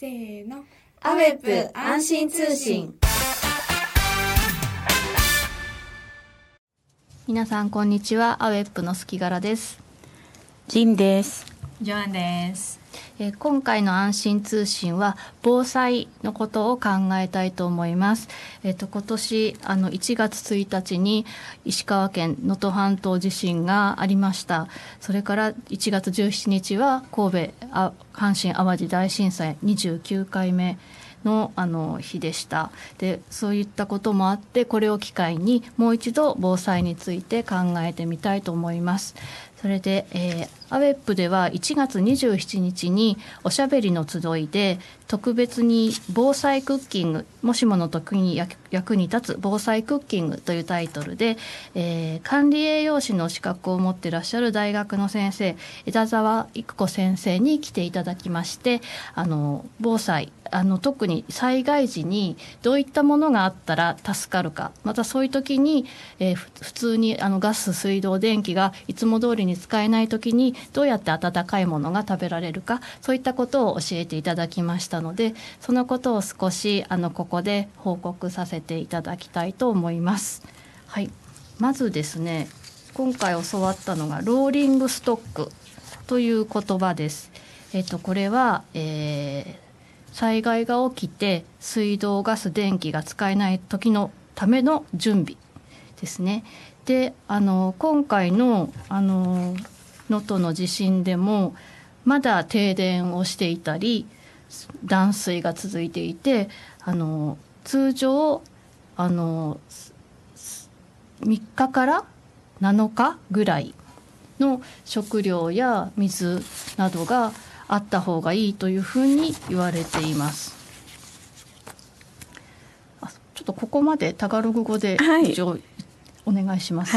せーの。アウェップ安心通信。 皆さんこんにちは。アウェップの隙柄です。 ジンです。 ジョアンです。 今回の安心通信は防災のことを考えたいと思います。今年1月1日に石川県能登半島地震がありました。それから1月17日は神戸阪神淡路大震災29回目の日でした。で、そういったこともあって、これを機会にもう一度防災について考えてみたいと思います。それで、アウェップでは1月27日におしゃべりの集いで特別に防災クッキング、もしもの時に役に立つ防災クッキングというタイトルで、管理栄養士の資格を持っていらっしゃる大学の先生、枝沢育子先生に来ていただきまして、防災特に災害時にどういったものがあったら助かるか、またそういう時に、普通にガス、水道、電気がいつも通りに使えない時にどうやって温かいものが食べられるか、そういったことを教えていただきましたので、そのことを少しここで報告させていただきたいと思います。はい、まずですね、今回教わったのがローリングストックという言葉です。これは、災害が起きて水道、ガス、電気が使えない時のための準備ですね。で、今回の能登の地震でもまだ停電をしていたり断水が続いていて、通常3日から7日ぐらいの食料や水などがあった方がいいというふうに言われています。ちょっとここまでタガログ語で一応お願いします。 はい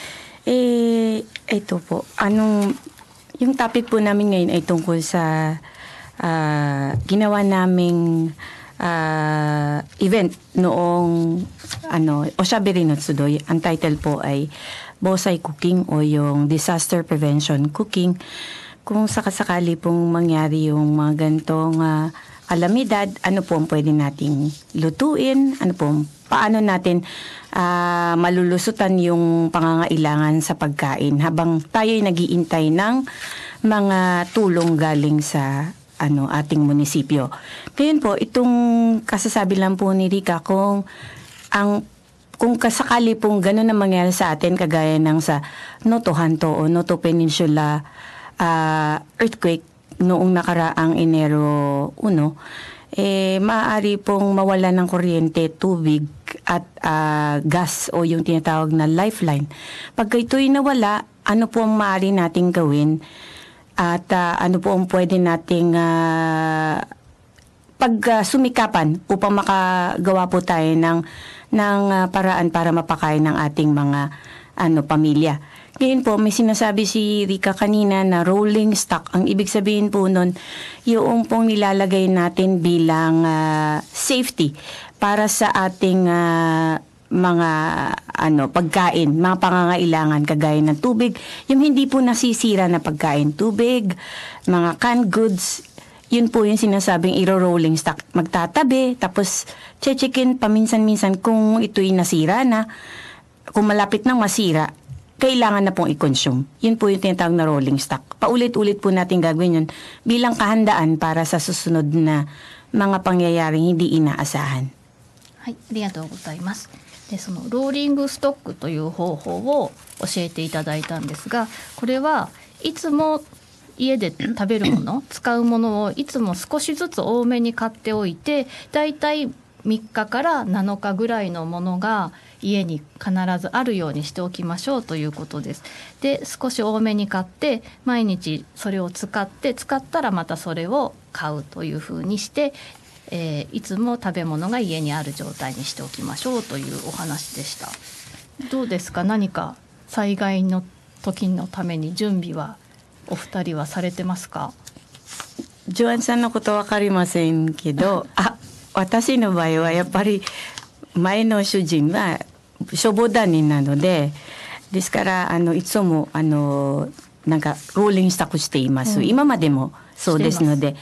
。Ito po, yung topic po namin ngayon ay tungkol sa ginawa naming event noong Oshabiri no Tsudoy. Ang title po ay Bosai Cooking o yung Disaster Prevention Cooking. Kung sakasakali pong mangyari yung mga gantong kalamidad, ano po ang pwede nating lutuin, paano natin malulusutan yung pangangailangan sa pagkain habang tayo'y nag-iintay ng mga tulong galing sa ating munisipyo. Ngayon po, itong kasasabi lang po ni Rica, kung kasakali pong gano'n na mangyari sa atin, kagaya ng sa Noto Hanto o Noto Peninsula earthquake noong nakaraang Enero 1, maaari pong mawala ng kuryente, tubig at gas o yung tinatawag na lifeline. Pagka ito'y nawala, ano po ang maaari nating gawin at ano po ang pwede nating pagsumikapan upang makagawa po tayo ng paraan para mapakain ng ating mga pamilya. Ngayon po, may sinasabi si Rica kanina na rolling stock. Ang ibig sabihin po nun, yung pong nilalagay natin bilang safety para sa ating mga pagkain, mga pangangailangan kagaya ng tubig. Yung hindi po nasisira na pagkain, tubig, mga canned goods, yun po yung sinasabing iro-rolling stock. Magtatabi, tapos checkin paminsan-minsan kung ito'y nasira na. Kung malapit nang masira, kailangan na pong i-consume. Yun po yung tinatawag na rolling stock. Paulit-ulit po natin gagawin yun bilang kahandaan para sa susunod na mga pangyayaring hindi inaasahan. はい、ありがとうございます。で、そのローリングストックという方法を教えていただいたんですが、これはいつも家で食べるもの、使うものをいつも少しずつ多めに買っておいて、だいたい3日から7日ぐらいのものが家に必ずあるようにしておきましょうということです。で、少し多めに買って毎日それを使ったらまたそれを買うというふうにして、いつも食べ物が家にある状態にしておきましょうというお話でした。どうですか？何か災害の時のために準備はお二人はされてますか？ ジョアンさんのことわかりませんけど、私の場合はやっぱり前の主人は消防団員なので、ですからいつもなんかローリングスタックしています、今までもそうですので、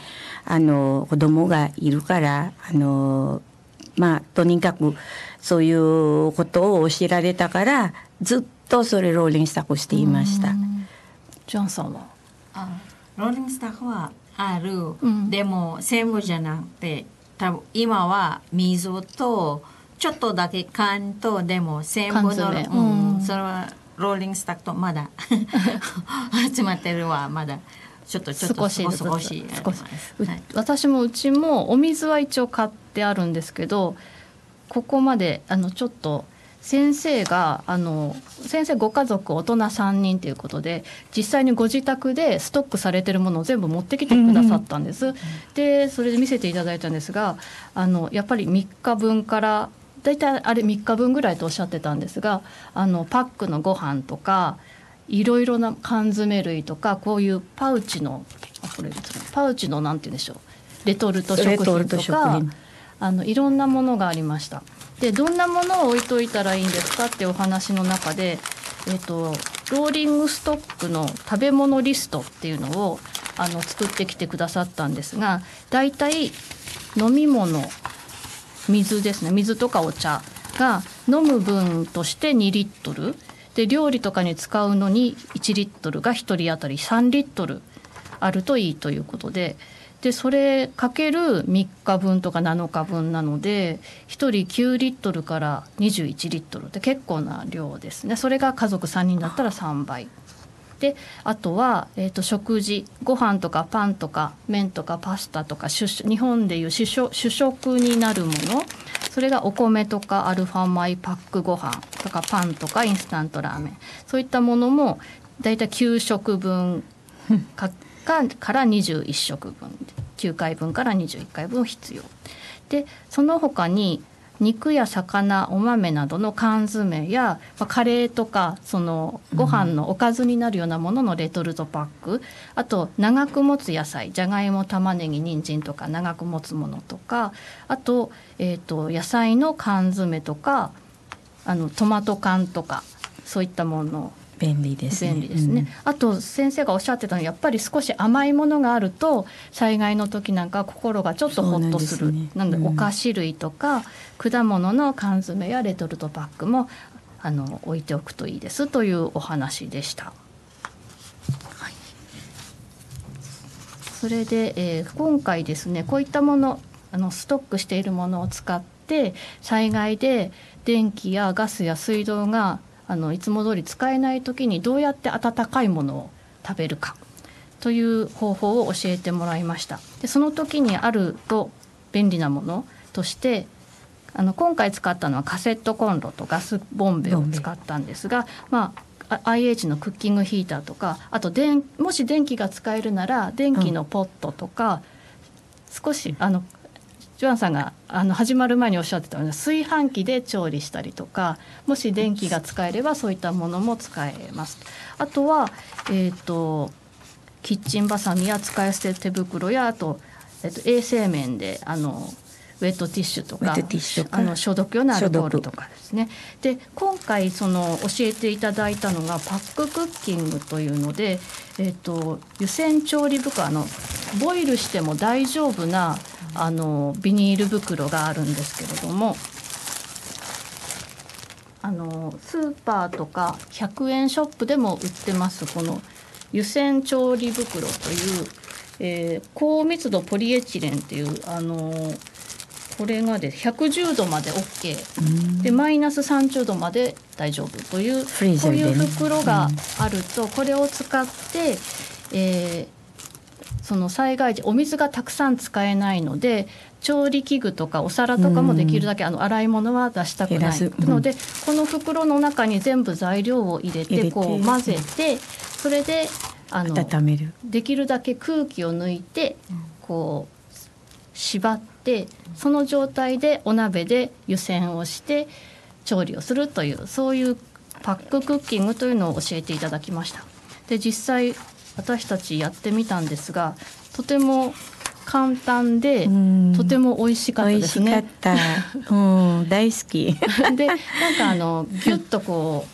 子供がいるからとにかくそういうことを教えられたからずっとそれローリングスタックしていました。 ジャンさんはローリングスタックはある、でも全部じゃなくて多分今は水とちょっとだけ缶とでも全部の、それはローリングスタックとまだ集まってるはまだちょっと少し、 私もうちもお水は一応買ってあるんですけど、ここまでちょっと先生ご家族大人3人ということで実際にご自宅でストックされてるものを全部持ってきてくださったんです、でそれで見せていただいたんですがやっぱり3日分からだいたいあれ3日分ぐらいとおっしゃってたんですがパックのご飯とかいろいろな缶詰類とかこういうパウチのなんて言うんでしょうレトルト食品とかいろんなものがありました。でどんなものを置いといたらいいんですかってお話の中で、ローリングストックの食べ物リストっていうのを作ってきてくださったんですが、だいたい飲み物水ですね、水とかお茶が飲む分として2リットルで料理とかに使うのに1リットルが1人当たり3リットルあるといいということで、それかける3日分とか7日分なので1人9リットルから21リットルって結構な量ですね。それが家族3人だったら3倍で、あとは、食事ご飯とかパンとか麺とかパスタとか日本でいう主食になるもの、それがお米とかアルファ米パックご飯とかパンとかインスタントラーメン、そういったものもだいたい9食分から21食分9回分から21回分必要で、その他に肉や魚お豆などの缶詰や、カレーとかそのご飯のおかずになるようなもののレトルトパック、あと長く持つ野菜じゃがいも玉ねぎ人参とか長く持つものとか、あと、野菜の缶詰とかトマト缶とかそういったもの便利ですね。 あと先生がおっしゃってたのはやっぱり少し甘いものがあると災害の時なんか心がちょっとホッとする。なのでお菓子類とか果物の缶詰やレトルトパックも置いておくといいですというお話でした。はい、それで、今回ですねこういったものストックしているものを使って災害で電気やガスや水道がいつも通り使えない時にどうやって温かいものを食べるかという方法を教えてもらいました。でその時にあると便利なものとして今回使ったのはカセットコンロとガスボンベを使ったんですが、IH のクッキングヒーターとか、あともし電気が使えるなら電気のポットとか、少しジョアンさんが始まる前におっしゃってたような炊飯器で調理したりとか、もし電気が使えればそういったものも使えます。あとは、キッチンバサミや使い捨て手袋や、あと、衛生面でウェットティッシュとか消毒用のアルコールとかですね。で今回教えていただいたのがパッククッキングというので、湯煎調理袋ボイルしても大丈夫なビニール袋があるんですけれども、スーパーとか100円ショップでも売ってますこの湯煎調理袋という、高密度ポリエチレンっていうこれがで110度まで OK でマイナス30度まで大丈夫というこういう袋があると、これを使って、その災害時お水がたくさん使えないので調理器具とかお皿とかもできるだけ洗い物は出したくないので、この袋の中に全部材料を入れてこう混ぜて、それで温める、 できるだけ空気を抜いてこう縛って、その状態でお鍋で湯煎をして調理をするという、そういうパッククッキングというのを教えていただきました。で実際私たちやってみたんですが、とても簡単でとても美味しかったですね。 美味しかった、大好きでなんかギュッとこう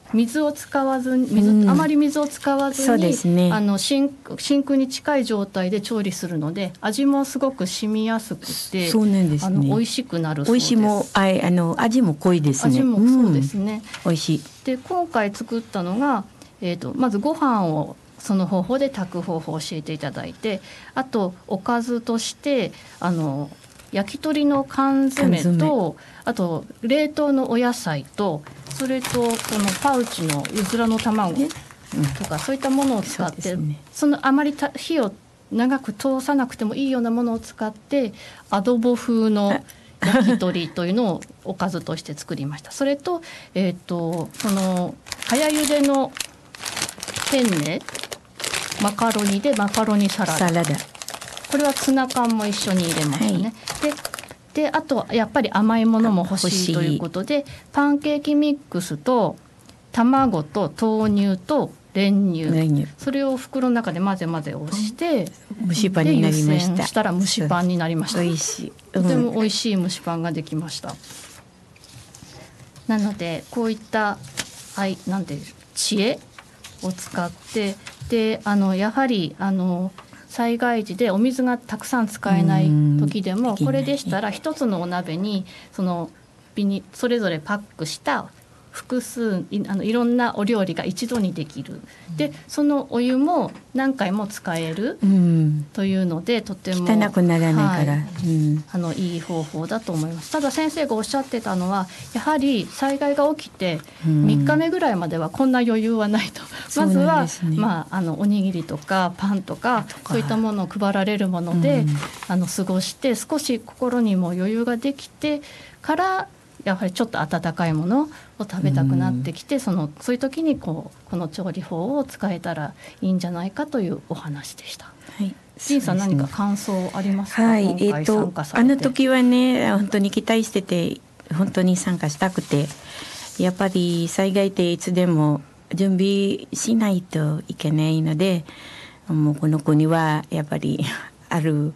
水を使わずにあまり水を使わずに、 そうですね、 真空に近い状態で調理するので味もすごく染みやすくて、 そうなんですね、 美味しくなるそうです。 味も濃いですね。 味もそうですね、 美味しい。で今回作ったのが、まずご飯をその方法で炊く方法を教えていただいて、あとおかずとして焼き鳥の缶詰と、あと冷凍のお野菜と、それとこのパウチのうずらの卵とか、そういったものを使って、そのあまり火を長く通さなくてもいいようなものを使ってアドボ風の焼き鳥というのをおかずとして作りました。それと、その早茹でのペンネマカロニでマカロニサラダ、これはツナ缶も一緒に入れましたね、であとやっぱり甘いものも欲しいということで、パンケーキミックスと卵と豆乳と練乳、それを袋の中で混ぜ混ぜをして蒸しパンになりました。 湯煎したら蒸しパンになりました。 美味しい、 とても美味しい蒸しパンができました。なのでこういったなんていう知恵を使って、でやはり災害時でお水がたくさん使えない時でも、これでしたら一つのお鍋にそれぞれパックした複数いろんなお料理が一度にできる。でそのお湯も何回も使えるというので、とても汚くならないから、 いい方法だと思います。ただ先生がおっしゃってたのは、やはり災害が起きて3日目ぐらいまではこんな余裕はないと、まずは、おにぎりとかパンとかそういったものを配られるもので、過ごして、少し心にも余裕ができてから、やはりちょっと温かいものを食べたくなってきて、そういう時にこの調理法を使えたらいいんじゃないかというお話でした。ジンさん、何か感想ありますか？今回参加されて。 あの時はね、本当に期待してて、本当に参加したくて、やっぱり災害っていつでも準備しないといけないので、もうこの国はやっぱりある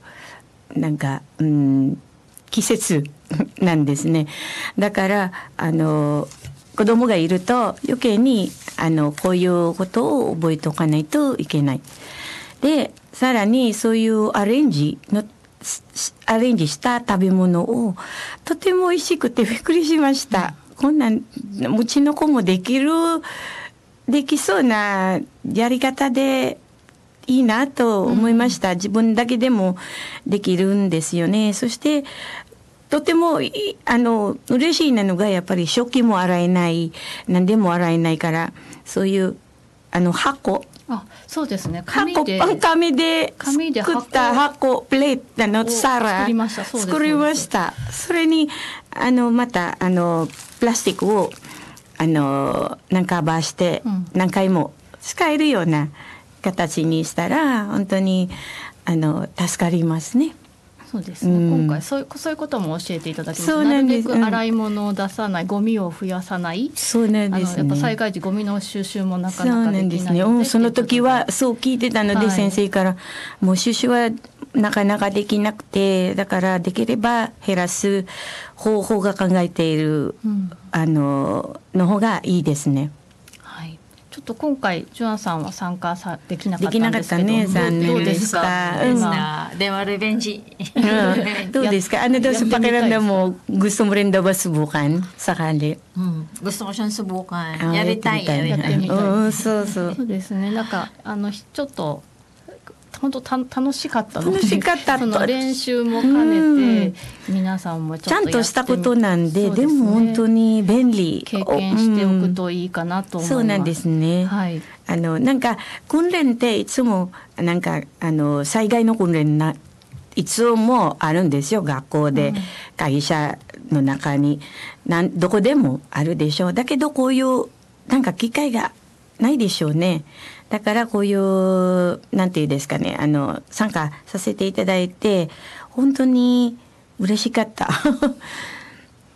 季節なんですね。だから子供がいると余計にこういうことを覚えておかないといけない。でさらにそういうアレンジした食べ物をとても美味しくてびっくりしました。こんなんうちの子もできそうなやり方でいいなと思いました。自分だけでもできるんですよね。そしてとても嬉しいなのが、やっぱり食器も洗えない、何でも洗えないから、そういう箱、 そうですね、 紙で作った箱、プレートの皿作りました。それにまたプラスチックをカバーして何回も使えるような形にしたら、本当に助かりますね。 そうですね、今回そういうことも教えていただきました。なるべく洗い物を出さない、ゴミを増やさない。 そうなんですね。 やっぱ災害時ゴミの収集もなかなかできないので。 そうなんですね。その時はそう聞いてたので、先生からもう収集はなかなかできなくて、だからできれば減らす方法が考えている、の方がいいですね。 ちょっと今回ジュアンさんは参加できなかったんですけど、 どうですか？でもリベンジ。 どうですか? Ano daw sa pakiramdam mo, gusto mo rin daw ba subukan sakali? Gusto ko siyang subukan. やりたい。 そうですね。ちょっと本当楽しかったので、その練習も兼ねて皆さんもちょっとちゃんとしたことなんで、でも本当に便利、 経験しておくといいかなと思います。 そうなんですね。訓練っていつも災害の訓練いつもあるんですよ。学校で、会社の中にどこでもあるでしょう。だけどこういう機会がないでしょうね。だからこういうなんていうんですかね、参加させていただいて本当に嬉しかった。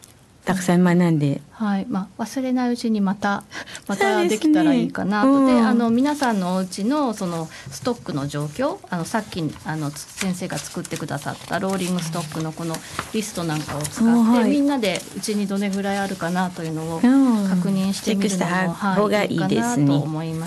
たくさん学んで、 はいまあ、忘れないうちにまたそうですねできたらいいかなと。でうん皆さんのお家のそのストックの状況、さっき先生が作ってくださったローリングストックのこのリストなんかを使って、 はいみんなでうちにどれぐらいあるかなというのをうん確認してみるのも、 チェックした方がいいですねいいかなと思います。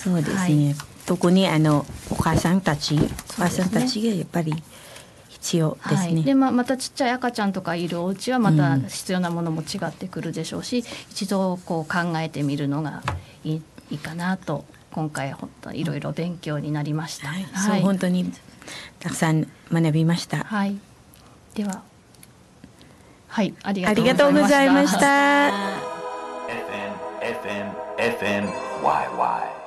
そうですね、 はい、 特にお母さんたち、お母さんたちがやっぱり必要ですね。 はいでまたちっちゃい赤ちゃんとかいるお家はまた必要なものも違ってくるでしょうし、一度こう考えてみるのがいいかなと今回本当いろいろ勉強になりました。 はいそう本当にたくさん学びました。 はい、でははいありありがとうございました。 FNYY